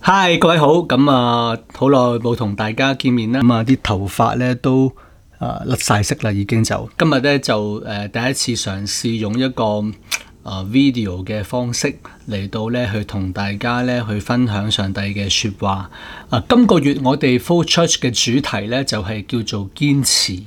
嗨，各位好，好耐冇同大家見面啦，啲頭髮咧都甩晒色啦，已經就今日咧就第一次嘗試用一個video 嘅方式嚟到咧去同大家咧去分享上帝嘅說話。今個月我哋 Flow Church 嘅主題咧就係叫做堅持。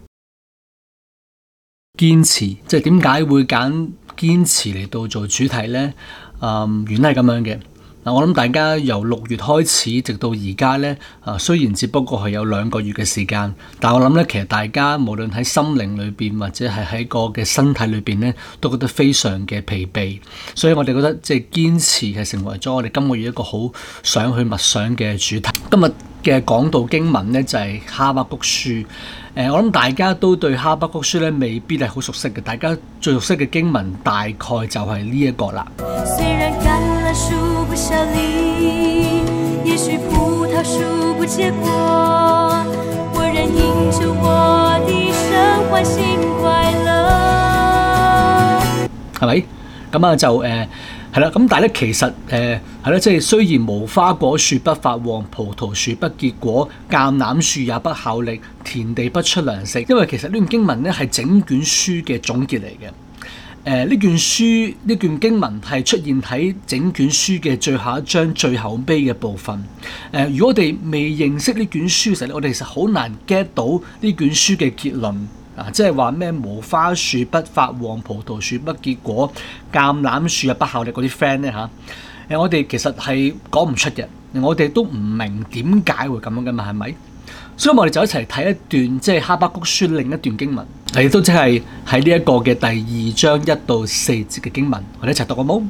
堅持即係點解會揀堅持嚟到做主題呢？原來係咁樣嘅。我諗大家由6月開始，直到而家呢，雖然只不過係有2個月嘅時間，但我諗呢，其實大家無論喺心靈裏邊或者係喺個嘅身體裏邊呢，都覺得非常嘅疲憊。所以我哋覺得即係堅持係成為咗我哋今個月一個好想去默想嘅主題。今日嘅講道經文呢，就係哈巴谷書。我諗大家都對哈巴谷書呢未必係好熟悉嘅，大家最熟悉嘅經文大概就係呢一個啦。雖然橄欖樹不效力，也許葡萄樹不結果，我仍因着我的神歡欣快樂。係咪？咁就係啦，咁但係咧，其實係啦，即係雖然無花果樹不發旺，葡萄樹不結果，橄欖樹也不效力，田地不出糧食。因為其實呢段經文咧係整卷書嘅總結嚟嘅。呢卷經文係出現喺整卷書嘅最後一章最後尾嘅部分。如果我哋未認識呢卷書嘅時候咧，我哋其實好難 get 到呢卷書嘅結論。即係話咩無花樹不發旺，葡萄樹不結果，橄欖樹又不效力嗰啲 friend 咧嚇，我哋其實係講唔出嘅，我哋都唔明點解會咁樣噶嘛，係咪？所以我哋就一齊睇一段即係哈巴谷書另一段經文，亦都即係喺呢一個嘅第2章1到4節嘅經文，我哋一齊讀好冇？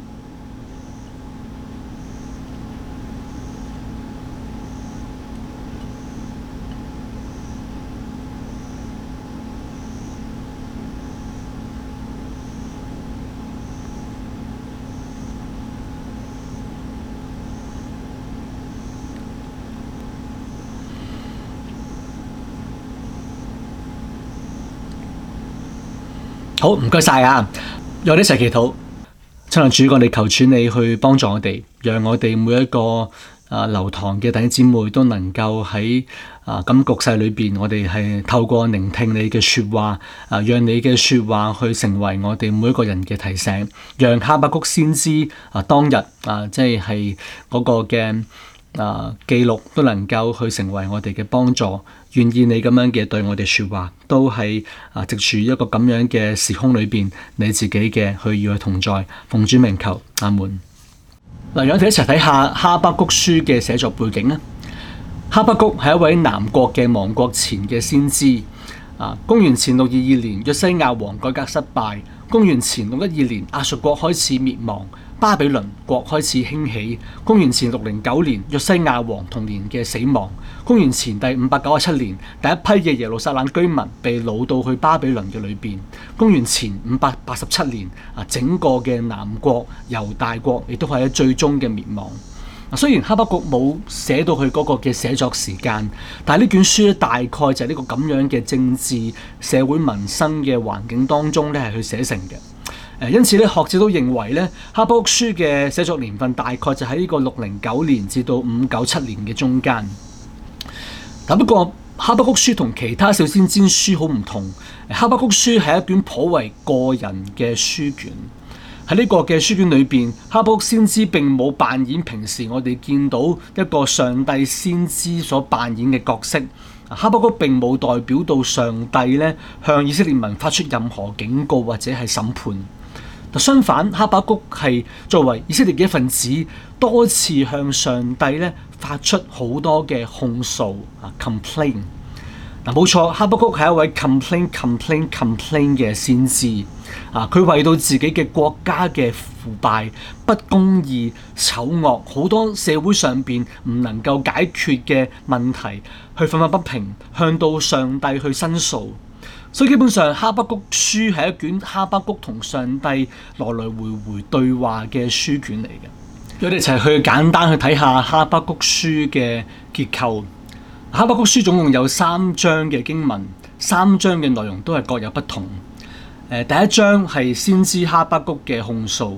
好，唔該晒啊！讓我哋一齊祈禱。親愛的主，我哋求主你去幫助我哋，讓我哋每一個流堂嘅弟兄姊妹都能夠喺咁局勢裏邊，我哋係透過聆聽你嘅說話，讓你嘅說話去成為我哋每一個人嘅提醒，讓哈巴谷先知當日即係嗰個嘅記錄都能夠去成為我哋嘅幫助。願意你咁樣嘅對我哋說話，都係藉住一個咁樣嘅時空裏邊，你自己嘅去與佢同在，奉主名求，阿門。嗱，讓我哋一齊睇下哈巴谷書嘅寫作背景啊。哈巴谷係一位南國嘅亡國前嘅先知。公元前622年，約西亞王改革失敗。公元前612年，亞述國開始滅亡，巴比倫國開始興起。公元前609年，約西亞王同年嘅死亡。公元前第597年，第一批嘅耶路撒冷居民被擄到去巴比倫嘅裏邊。公元前587年，整個嘅南國猶大國亦都係喺最終嘅滅亡。雖然哈巴谷冇寫到佢嗰個嘅寫作時間，但係呢卷書大概就係呢個咁樣嘅政治、社會、民生嘅環境當中咧係去寫成嘅。因此咧，學者都認為咧，哈巴谷書嘅寫作年份大概就喺呢個609年至到597年嘅中間。但不過，哈巴谷書同其他小先知書好唔同。哈巴谷書係一卷頗為個人嘅書卷。喺呢個嘅書卷裏邊，哈巴谷先知並冇扮演平時我哋見到一個上帝先知所扮演嘅角色。哈巴谷並冇代表到上帝咧向以色列民發出任何警告或者係審判。相反，哈巴谷係作為以色列嘅一份子，多次向上帝咧發出好多嘅控訴complain。冇錯，哈巴谷係一位 complain 嘅先知。佢為到自己嘅國家嘅腐敗、不公義、醜惡，好多社會上邊唔能夠解決嘅問題，去憤憤不平，向到上帝去申訴。所以基本上，哈巴谷書係一卷哈巴谷同上帝來來回回對話嘅書卷嚟嘅。我哋一齊去簡單去睇下哈巴谷書嘅結構。哈巴谷書總共有3章嘅經文，3章嘅內容都係各有不同。第一章係先知哈巴谷嘅控訴，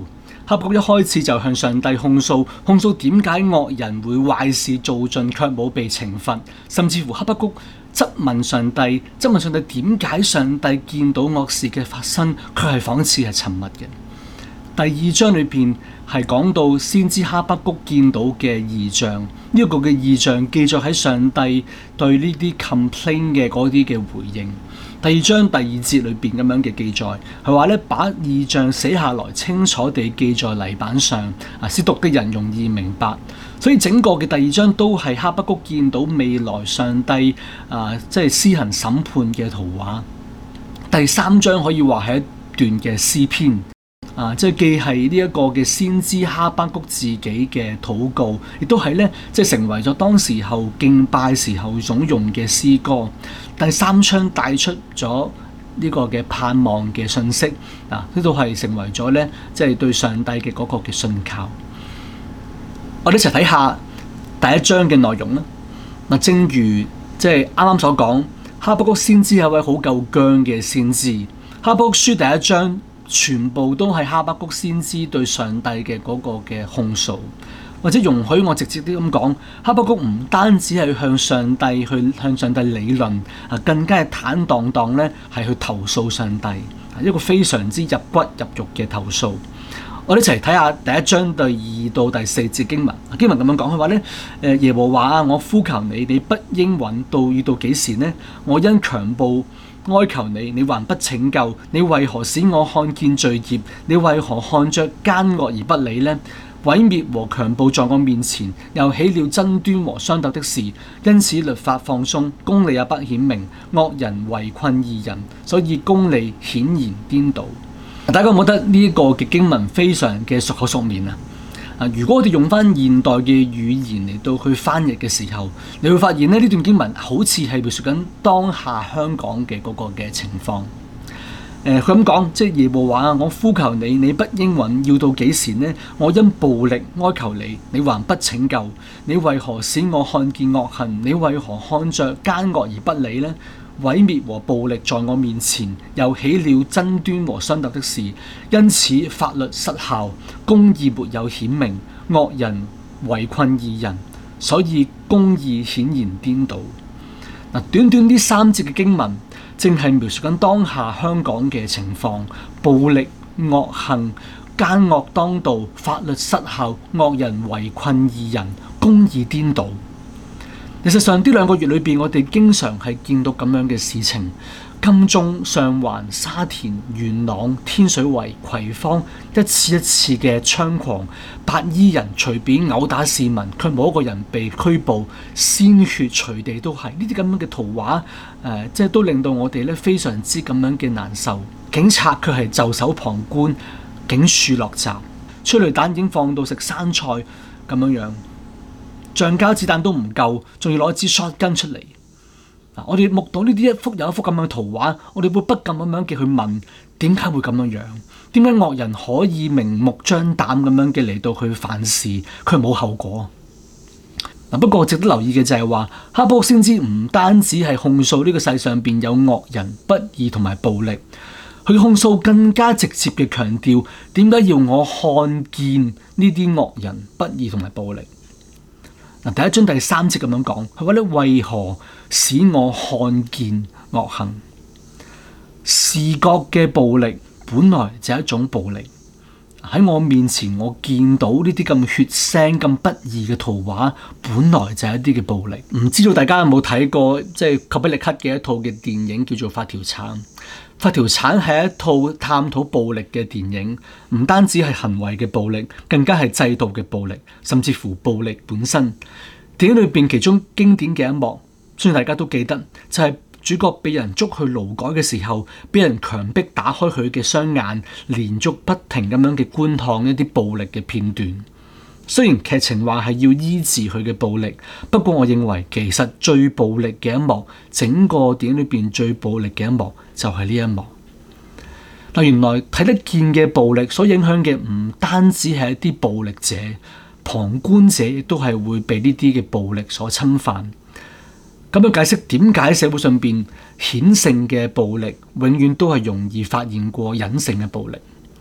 哈巴谷一開始就向上帝控訴點解惡人會壞事做盡卻冇被懲罰，甚至乎哈巴谷質問上帝點解上帝見到惡事嘅發生，佢係仿似係沉默嘅。第二章裏邊係講到先知哈巴谷見到嘅異象，呢個嘅異象記載喺上帝對呢啲 complain 嘅嗰啲嘅回應。第二章第二節裏邊咁樣嘅記載，係話咧把異象寫下來，清楚地記在泥板上，使讀嘅人容易明白。所以整個嘅第二章都係哈巴谷見到未來上帝即係施行審判嘅圖畫。第三章可以話係一段嘅詩篇。即係既係呢一個嘅先知哈巴谷自己嘅禱告，亦都係咧即係成為咗當時候敬拜時候所用嘅詩歌。第三章帶出咗呢個嘅盼望嘅信息，呢度係成為咗咧即係對上帝嘅嗰個嘅信靠。我哋一齊睇下第一章嘅內容啦。正如即係啱啱所講，哈巴谷先知係一位好夠薑嘅先知。哈巴谷書第一章全部都係哈巴谷先知對上帝嘅嗰個嘅控訴，或者容許我直接啲咁講，哈巴谷唔單止係向上帝理論，更加係坦蕩蕩咧係去投訴上帝，一個非常之入骨入肉嘅投訴。我哋一齊睇下第一章第2到第4節經文。經文咁樣講，佢話咧，耶和華啊，我呼求你，你不應允，要到幾時呢？我因強暴哀求你，你還不拯救？你為何使我看見罪孽？你為何看着奸惡而不理呢？毀滅和強暴在我面前，又起了爭端和相鬥的事，因此律法放鬆，公理也不顯明，惡人圍困義人，所以公理顯然顛倒。大家覺得呢一個嘅經文非常嘅熟口熟面啊？如果我哋用翻現代嘅語言嚟到去翻譯嘅時候，你會發現呢段經文好似係描述緊當下香港嘅嗰個嘅情況。佢咁講，即係耶和華啊，我呼求你，你不應允，要到幾時呢？我因暴力哀求你，你還不拯救？你為何使我看見惡行？你為何看着奸惡而不理呢？毀滅和暴力在我面前，又起了爭端和相鬥的事，因此法律失效，公義沒有顯明，惡人圍困義人，所以公義顯然顛倒。短短呢3節嘅經文，正係描述緊當下香港嘅情況：暴力、惡行、奸惡當道、法律失效、惡人圍困義人、公義顛倒。事實上，呢2個月裏邊，我哋經常係見到咁樣嘅事情。金鐘、上環、沙田、元朗、天水圍、葵芳，一次一次嘅猖狂，白衣人隨便毆打市民，卻冇一個人被拘捕，鮮血隨地都係。呢啲咁樣嘅圖畫，即係都令到我哋咧非常之咁樣嘅難受。警察卻係袖手旁觀，警署落閘，催淚彈已經放到食生菜咁樣樣。橡膠子彈都唔夠，仲要攞一支 shotgun 出嚟。我哋目睹呢啲一幅又一幅咁樣嘅圖畫，我哋會不禁咁樣嘅去問：點解會咁樣樣？點解惡人可以明目張膽咁樣嘅嚟到去犯事，佢冇後果？不過值得留意嘅就係話，哈巴谷先知唔單止係控訴呢個世上邊有惡人、不義同埋暴力，佢控訴更加直接嘅強調：點解要我看見呢啲惡人、不義同埋暴力？第一章第3節咁樣講，佢話咧，為何使我看見惡行？視覺嘅暴力本來就係一種暴力。喺我面前，我見到呢啲咁血腥、咁不義嘅圖畫，本來就係一啲嘅暴力。唔知道大家有冇睇過即係賈比力克嘅一套嘅電影叫做《發條橙》。《發條橙》係一套探討暴力嘅電影，唔單止係行為嘅暴力，更加係制度嘅暴力，甚至乎暴力本身。電影裏邊其中經典嘅一幕，相信大家都記得，就係主角被人捉去勞改嘅時候，俾人強迫打開佢嘅雙眼，連續不停咁樣嘅觀看一啲暴力嘅片段。雖然劇情話係要醫治佢嘅暴力，不過我認為其實最暴力嘅一幕，整個電影裏邊最暴力嘅一幕就係呢一幕。原來睇得見嘅暴力所影響嘅唔單止係一啲暴力者，旁觀者亦都係會被呢啲嘅暴力所侵犯。咁樣解釋點解社會上邊顯性嘅暴力永遠都係容易發現過隱性嘅暴力。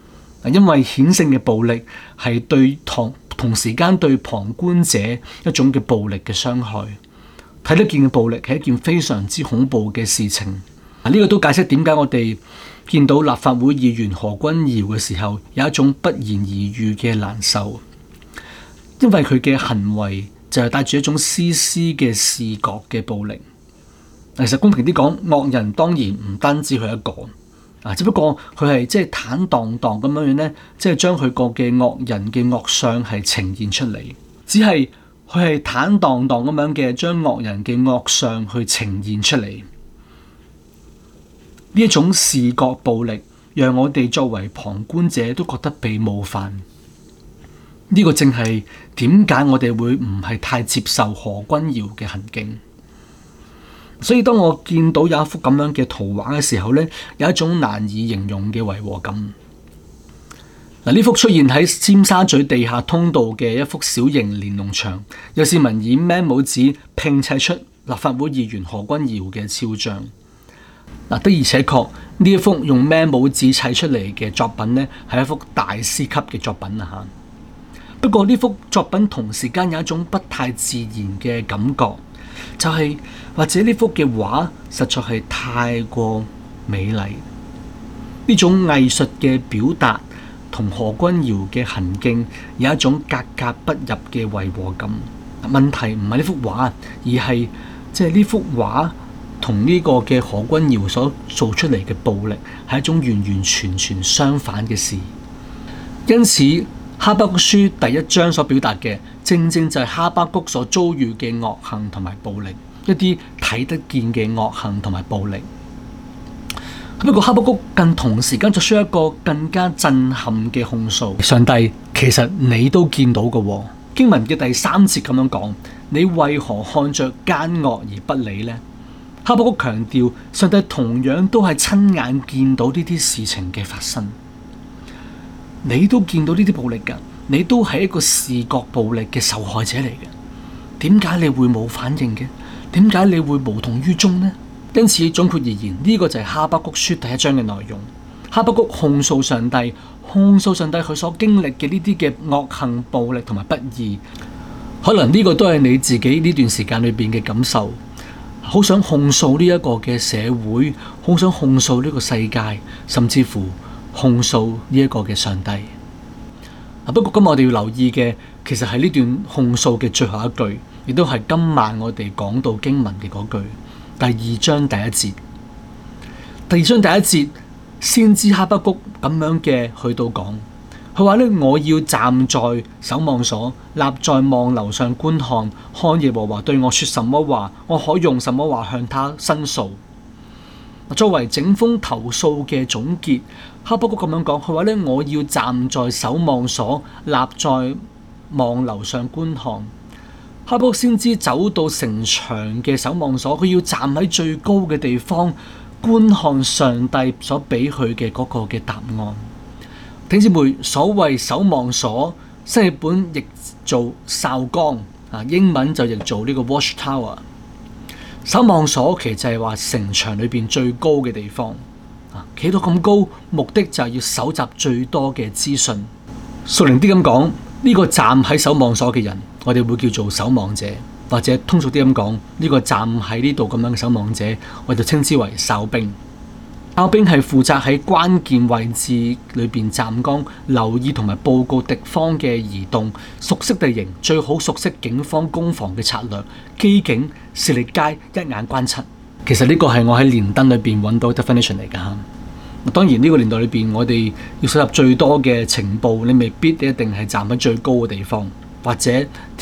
因為顯性嘅暴力係對同時間對旁觀者一種嘅暴力嘅傷害。睇得見嘅暴力係一件非常之恐怖嘅事情。呢個都解釋點解我哋見到立法會議員何君堯嘅時候有一種不言而喻嘅難受，因為佢嘅行為就係帶住一種絲絲嘅視覺嘅暴力。其實公平啲講，惡人當然唔單止佢一個，只不過佢係即係坦蕩蕩咁樣樣咧，即係將佢個嘅惡人嘅惡相係呈現出嚟。只係佢係坦蕩蕩咁樣嘅將惡人嘅惡相去呈現出嚟。呢一種視覺暴力，讓我哋作為旁觀者都覺得被冒犯。呢個正係點解我哋會唔係太接受何君堯嘅行徑。所以當我見到有一幅咁樣嘅圖畫嘅時候呢，有一種難以形容嘅違和感。呢幅出現喺尖沙咀地下通道嘅一幅小型連儂牆，有市民以孭帽紙拼砌出立法會議員何君堯嘅肖像。的而且確呢一幅用孭帽紙砌出嚟嘅作品呢，係一幅大師級嘅作品啊！不過呢幅作品同時間有一種不太自然嘅感覺。就係或者呢幅嘅畫實在係太過美麗，呢種藝術嘅表達同何君堯嘅行徑有一種格格不入嘅違和感。問題唔係呢幅畫，而係即係呢幅畫同呢個嘅何君堯所做出嚟嘅暴力係一種完完全全相反嘅事。因此哈巴谷書第一章所表達嘅，正正就係哈巴谷所遭遇嘅惡行同埋暴力，一啲睇得見嘅惡行同埋暴力。不過哈巴谷更同時間作出一個更加震撼嘅控訴：上帝，其實你都見到嘅喎。經文嘅第3節咁樣講：你為何看着奸惡而不理呢？哈巴谷強調，上帝同樣都係親眼見到呢啲事情嘅發生。你都見到呢啲暴力㗎，你都係一個視覺暴力嘅受害者嚟嘅。點解你會冇反應嘅？點解你會無動於衷呢？因此總括而言，呢個就係哈巴谷書第一章嘅內容。哈巴谷控訴上帝，控訴上帝佢所經歷嘅呢啲嘅惡行、暴力同埋不義。可能呢個都係你自己呢段時間裏邊嘅感受，好想控訴呢一個嘅社會，好想控訴呢個世界，甚至乎控訴呢一個嘅上帝。不過今日我哋要留意嘅，其實係呢段控訴嘅最後一句，亦都係今晚我哋講到經文嘅嗰句，第2章第1節。第2章第1節，先知哈巴谷咁樣嘅去到講，佢話咧：我要站在守望所，立在望樓上觀看，看耶和華對我說什麼話，我可用什麼話向他申訴。作為整封投訴嘅總結，哈巴谷咁樣講，佢話咧：我要站在守望所，立在望樓上觀看。哈巴谷先知走到城牆嘅守望所，佢要站喺最高嘅地方觀看上帝所俾佢嘅嗰個嘅答案。弟兄姊妹，所謂守望所，新譯本譯做哨崗，英文就譯做呢個 watchtower。守望所其實就係話城牆裏邊最高嘅地方，企到咁高，目的就係要搜集最多嘅資訊。屬靈啲咁講，呢個站喺守望所嘅人，我哋會叫做守望者，或者通俗啲咁講，呢個站喺呢度咁樣嘅守望者，我就稱之為哨兵。哨兵係負責喺關鍵位置裏邊站崗，留意同埋報告敵方嘅移動，熟悉地形，最好熟悉警方攻防嘅策略，機警、視力佳，一眼關七。其實呢個係我喺連登裏邊揾到 definition 嚟㗎。當然呢個年代裏邊，我哋要收集最多嘅情報，你未必一定係站喺最高嘅地方，或者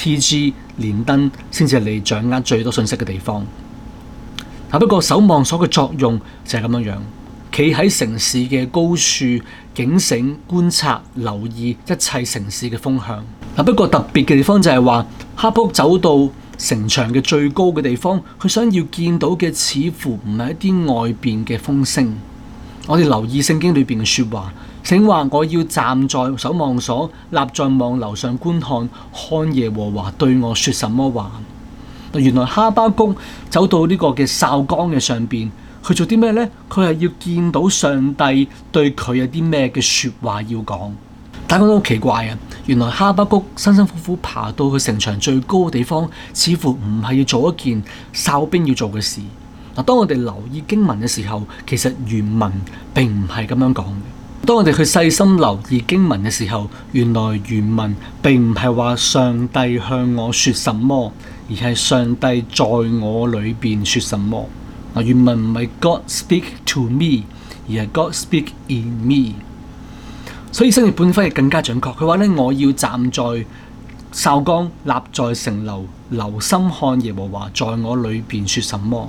TG 連登先至係你掌握最多信息嘅地方。不過守望所嘅作用就係咁樣樣。企喺城市嘅高處，警醒、觀察、留意一切城市嘅風向。不過特別嘅地方就係話，哈巴谷走到城牆嘅最高嘅地方，佢想要見到嘅似乎唔係一啲外邊嘅風聲。我哋留意聖經裏邊嘅說話，請話我要站在守望所，立在望樓上觀看，看耶和華對我說什麼話。原來哈巴谷走到呢個嘅哨崗嘅上邊。 佢做啲咩呢？佢係要見到上帝對佢有啲咩嘅說話要講。大家都好奇怪啊！原來哈巴谷辛辛苦苦爬到去城牆最高嘅地方，似乎唔係要做一件哨兵要做嘅事。嗱，當我哋留意經文嘅時候，其實原文並唔係咁樣講嘅。當我哋去細心留意經文嘅時候，原來原文並唔係話上帝向我說什麼，而係上帝在我裏邊說什麼。嗱，原文唔係 God speak to me， 而係 God speak in me。所以新譯本翻譯更加準確，佢話咧，我要站在哨崗，立在城樓，留心看耶和華在我裏邊說什麼。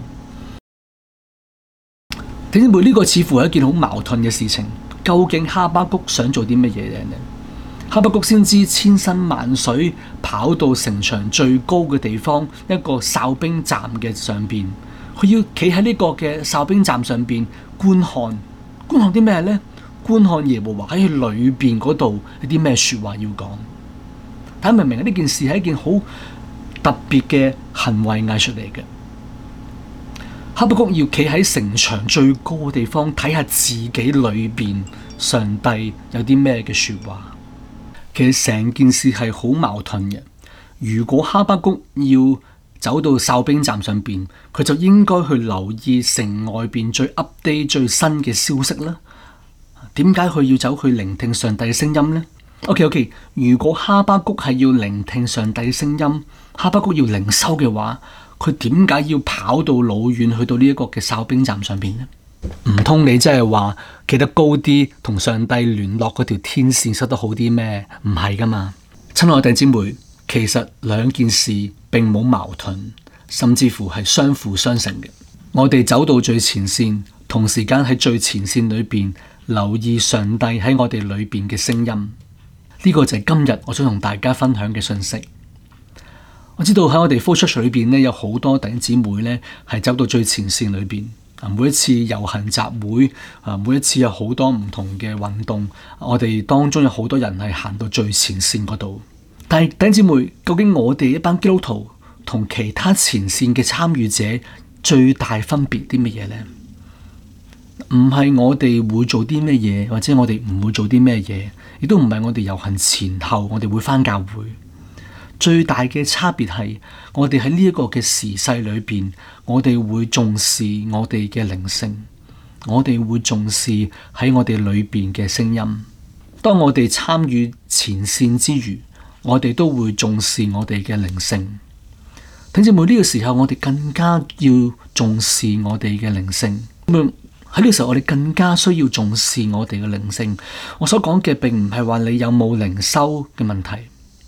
弟兄姊妹，呢個似乎係一件好矛盾嘅事情。究竟哈巴谷想做啲乜嘢呢？哈巴谷先知千辛萬水跑到城牆最高嘅地方，一個哨兵站嘅上邊，佢要企喺呢個嘅哨兵站上邊觀看啲咩呢？觀看耶和華喺佢裏邊嗰度有啲咩說話要講。大家明唔明啊？呢件事係一件好特別嘅行為藝術嚟嘅。哈巴谷要企喺城牆最高嘅地方睇下自己裏邊上帝有啲咩嘅說話。其實成件事係好矛盾嘅。如果哈巴谷要走到哨兵站上邊，佢就應該去留意城外邊最 update 最新嘅消息啦。點解佢要走去聆聽上帝嘅聲音呢？ OK， 如果哈巴谷係要聆聽上帝嘅聲音，哈巴谷要靈修嘅話，佢點解要跑到老遠去到呢一個嘅哨兵站上邊呢？唔通你真係話企得高啲，同上帝聯絡嗰條天線收得好啲咩？唔係噶嘛。親愛的弟兄姊妹，其實兩件事並冇矛盾，甚至乎係相輔相成嘅。我哋走到最前線，同時間喺最前線裏邊留意上帝喺我哋裏邊嘅聲音，呢個就係今日我想同大家分享嘅信息。我知道喺我哋 flow church 裏邊咧，有好多弟兄姊妹咧係走到最前線裏邊。每一次遊行集會，每一次有好多唔同嘅運動，我哋當中有好多人係行到最前線嗰度。但係弟兄姊妹，究竟我哋一班基督徒同其他前線嘅參與者最大分別啲乜嘢呢？唔係我哋會做啲咩嘢，或者我哋唔會做啲咩嘢，亦都唔係我哋遊行前後我哋會返教會。最大嘅差別係，我哋喺呢一個嘅時勢裏邊，我哋會重視我哋嘅靈性，我哋會重視喺我哋裏邊嘅聲音。當我哋參與前線之餘，我哋都會重視我哋嘅靈性。弟兄姊妹，呢個時候我哋更加要重視我哋嘅靈性。喺呢個時候，我哋更加需要重視我哋嘅靈性。我所講嘅並唔係話你有冇靈修嘅問題。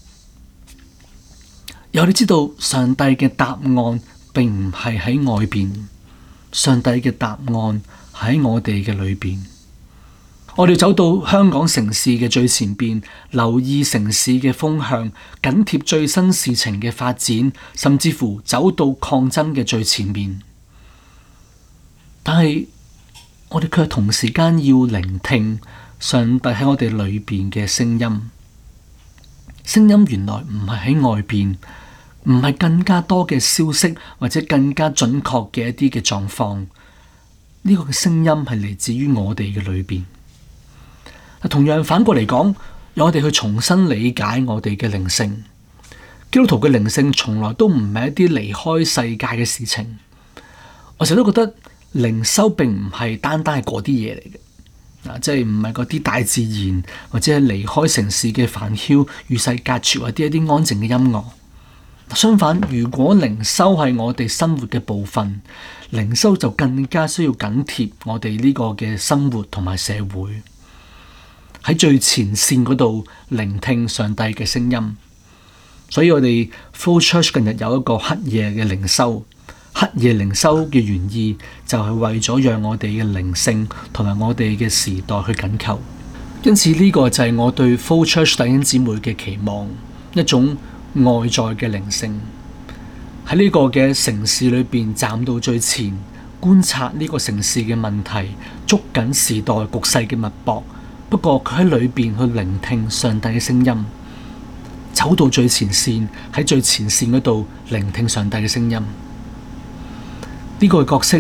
有你知道上帝嘅答案並唔係喺外邊，上帝嘅答案喺我哋嘅裏邊。我哋走到香港城市嘅最前邊，留意城市嘅風向，緊貼最新事情嘅發展，甚至乎走到抗爭嘅最前面。但係我哋卻同時間要聆聽上帝喺我哋裏邊嘅聲音。聲音原來唔係喺外邊，唔係更加多嘅消息或者更加準確嘅一啲嘅狀況。呢個嘅聲音係嚟自於我哋嘅裏邊。同樣反過嚟講，由我哋去重新理解我哋嘅靈性。基督徒嘅靈性從來都唔係一啲離開世界嘅事情。我成日都覺得靈修並唔係單單係嗰啲嘢嚟嘅，即係唔係嗰啲大自然或者係離開城市嘅煩囂與世隔絕或者一啲安靜嘅音樂。相反，如果靈修係我哋生活嘅部分，靈修就更加需要緊貼我哋呢個嘅生活同埋社會，喺最前線嗰度聆聽上帝嘅聲音。所以我哋 flow church 近日有一個黑夜嘅靈修。黑夜靈修嘅原意就係為咗讓我哋嘅靈性同埋我哋嘅時代去緊扣。因此呢個就係我對 flow church 弟兄姊妹嘅期望，一種外在嘅靈性，喺呢個嘅城市裏邊站到最前，觀察呢個城市嘅問題，捉緊時代局勢嘅脈搏。不過佢喺裏邊去聆聽上帝嘅聲音，走到最前線，喺最前線嗰度聆聽上帝嘅聲音。呢個角色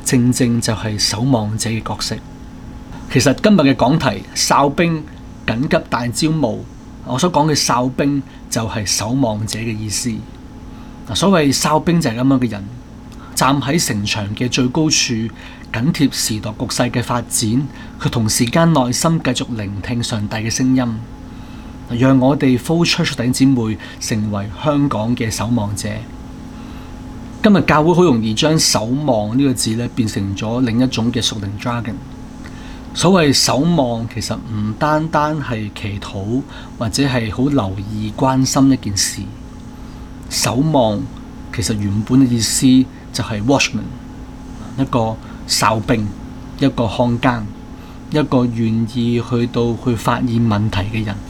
正正就係守望者嘅角色。其實今日嘅講題哨兵緊急大招募，我所講嘅哨兵就係守望者嘅意思。所謂哨兵就係咁樣嘅人，站喺城牆嘅最高處，緊貼時代局勢嘅發展，佢同時間內心繼續聆聽上帝嘅聲音，讓我哋 flow church 弟兄姊妹成為香港嘅守望者。今日教會好容易將守望呢個字咧變成咗另一種嘅屬靈 jargon。所謂守望其實唔單單係祈禱或者係好留意關心一件事，守望其實原本嘅意思就係 watchman， 一個哨兵，一個看更，一個願意去發現問題嘅人。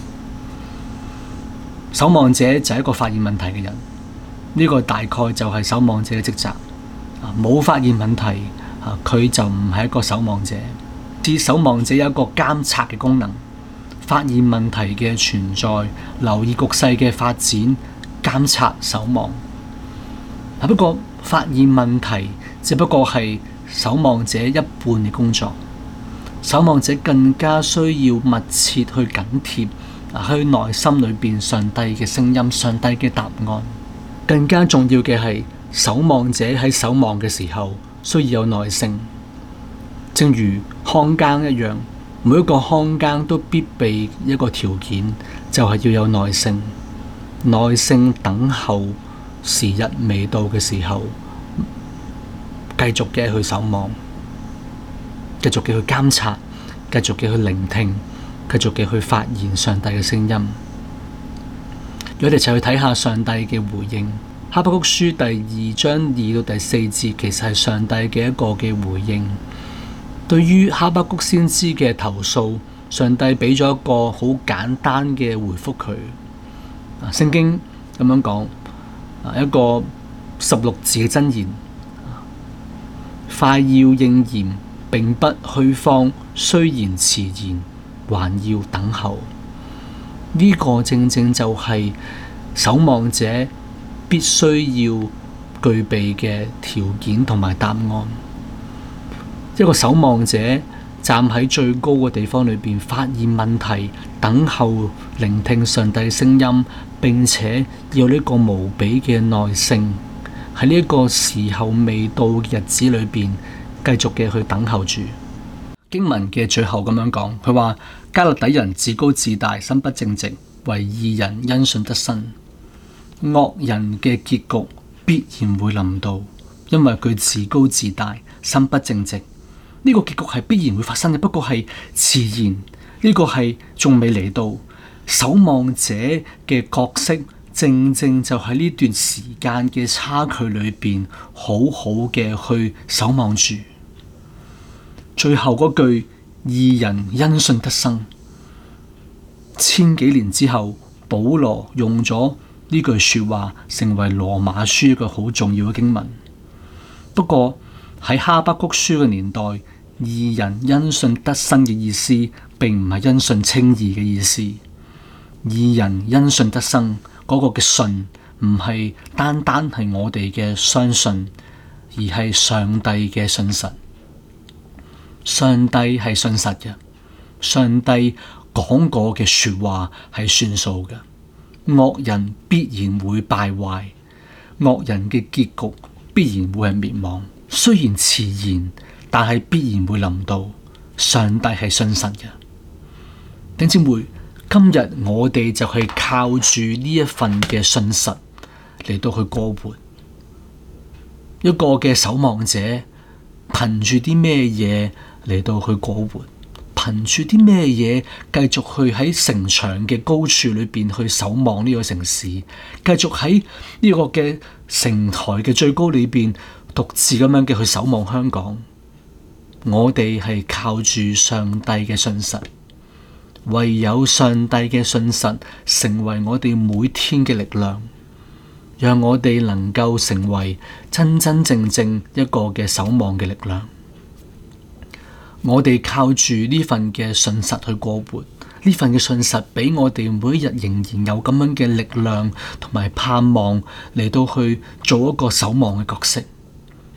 守望者就係一個發現問題嘅人。呢個大概就係守望者嘅職責。冇發現問題，佢就唔係一個守望者。似守望者有一個監察嘅功能，發現問題嘅存在，留意局勢嘅發展，監察守望。不過發現問題只不過係守望者一半嘅工作，守望者更加需要密切去緊貼去內心裏邊上帝嘅聲音、上帝嘅答案。更加重要嘅係，守望者喺守望嘅時候需要有耐性，正如看更一樣，每一個看更都必備一個條件，就係要有耐性，耐性等候時日未到嘅時候，繼續嘅去守望，繼續嘅去監察，繼續嘅去聆聽，繼續嘅去發現上帝嘅聲音。我哋一齊去睇下上帝嘅回應。哈巴谷書第2章2到第4節，其實係上帝嘅一個嘅回應。對於哈巴谷先知嘅投訴，上帝俾咗一個好簡單嘅回覆佢。聖經咁樣講，一個16字嘅箴言，快要應驗，並不虛謊，雖然遲延，還要等候。呢個正正就係守望者必須要具備嘅條件同埋答案。一個守望者站喺最高嘅地方裏邊，發現問題，等候聆聽上帝聲音，並且要呢個無比嘅耐性，喺呢一個時候未到嘅日子裏邊，繼續嘅去等候住。經文嘅最後咁樣講，佢話迦勒底人自高自大，心不正直，惟義人因信得生。惡人嘅結局必然會臨到，因為佢自高自大，心不正直。呢個結局係必然會發生嘅，不過係遲延，呢個係仲未嚟到。守望者嘅角色正正就喺呢段時間嘅差距裏邊，好好嘅去守望住。最後嗰句義人因信得生，千幾年之後，保羅用咗呢句說話成為羅馬書一個好重要嘅經文。不過喺哈巴谷書嘅年代，義人因信得生嘅意思並唔係因信稱義嘅意思。義人因信得生嗰個嘅信唔係單單係我哋嘅相信，而係上帝嘅信實。上帝係信實嘅，上帝講過嘅說話係算數嘅。惡人必然會敗壞，惡人嘅結局必然會係滅亡。雖然遲延，但係必然會臨到。上帝係信實嘅。弟兄姊妹，今日我哋就係靠住呢一份嘅信實嚟到去過活。一個嘅守望者憑住啲咩嘢嚟到去過活？憑住啲咩嘢繼續去喺城牆嘅高處裏邊去守望呢個城市？繼續喺呢個嘅城台嘅最高裏邊獨自咁樣嘅去守望香港？我哋係靠住上帝嘅信實，唯有上帝嘅信實成為我哋每天嘅力量，讓我哋能夠成為真真正正一個嘅守望嘅力量。我哋靠住呢份嘅信實去過活，呢份嘅信實俾我哋每一日仍然有咁樣嘅力量同埋盼望嚟到去做一個守望嘅角色。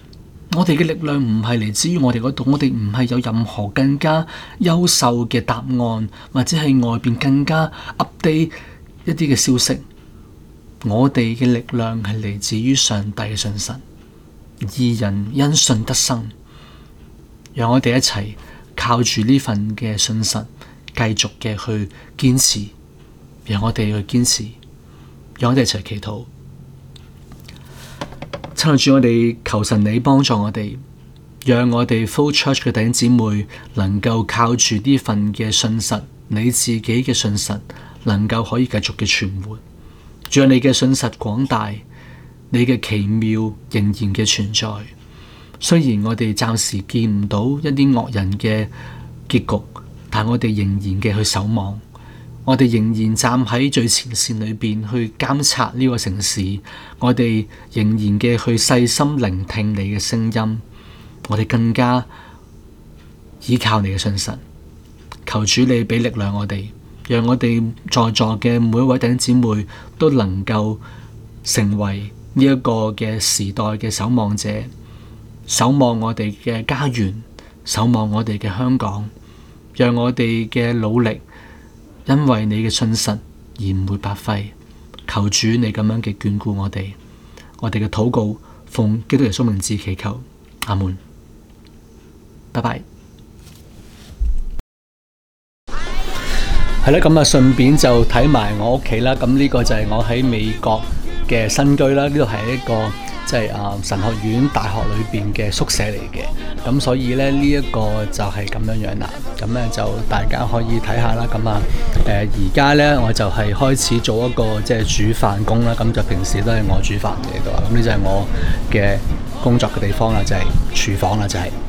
我哋嘅力量唔係嚟自於我哋嗰度，我哋唔係有任何更加優秀嘅答案，或者係外邊更加 update 一啲嘅消息。我哋嘅力量係嚟自於上帝嘅信實，義人因信得生。讓我哋一齊靠住呢份嘅信實，繼續嘅去堅持。讓我哋去堅持，讓我哋一齊祈禱。親愛主，我哋求神你幫助我哋，讓我哋 Flow Church 嘅弟兄姊妹能夠靠住呢份嘅信實，你自己嘅信實，能夠可以繼續嘅存活。主啊，你嘅信實廣大，你嘅奇妙仍然嘅存在。雖然我哋暫時見唔到一啲惡人嘅結局，但我哋仍然嘅去守望。我哋仍然站喺最前線裏邊去監察呢個城市，我哋仍然嘅去細心聆聽你嘅聲音，我哋更加依靠你嘅信實。求主你俾力量我哋，讓我哋在座嘅每一位弟兄姊妹都能夠成為呢一個嘅時代嘅守望者，守望我哋嘅家園，守望我哋嘅香港，讓我哋嘅努力因為你嘅信實而唔會白費。求主你咁樣嘅眷顧我哋，我哋嘅禱告奉基督耶穌名字祈求，阿門。拜拜。係啦，咁啊順便就睇埋我屋企啦。咁呢個就係我喺美國嘅新居啦。呢度係一個即係神學院大學裏邊嘅宿舍嚟嘅。咁所以咧呢一個就係咁樣樣啦。咁咧就大家可以睇下啦。咁啊而家咧我就係開始做一個即係煮飯工啦。咁就平時都係我煮飯嘅呢度啊。咁呢就係我嘅工作嘅地方啦，就係廚房啦，就係。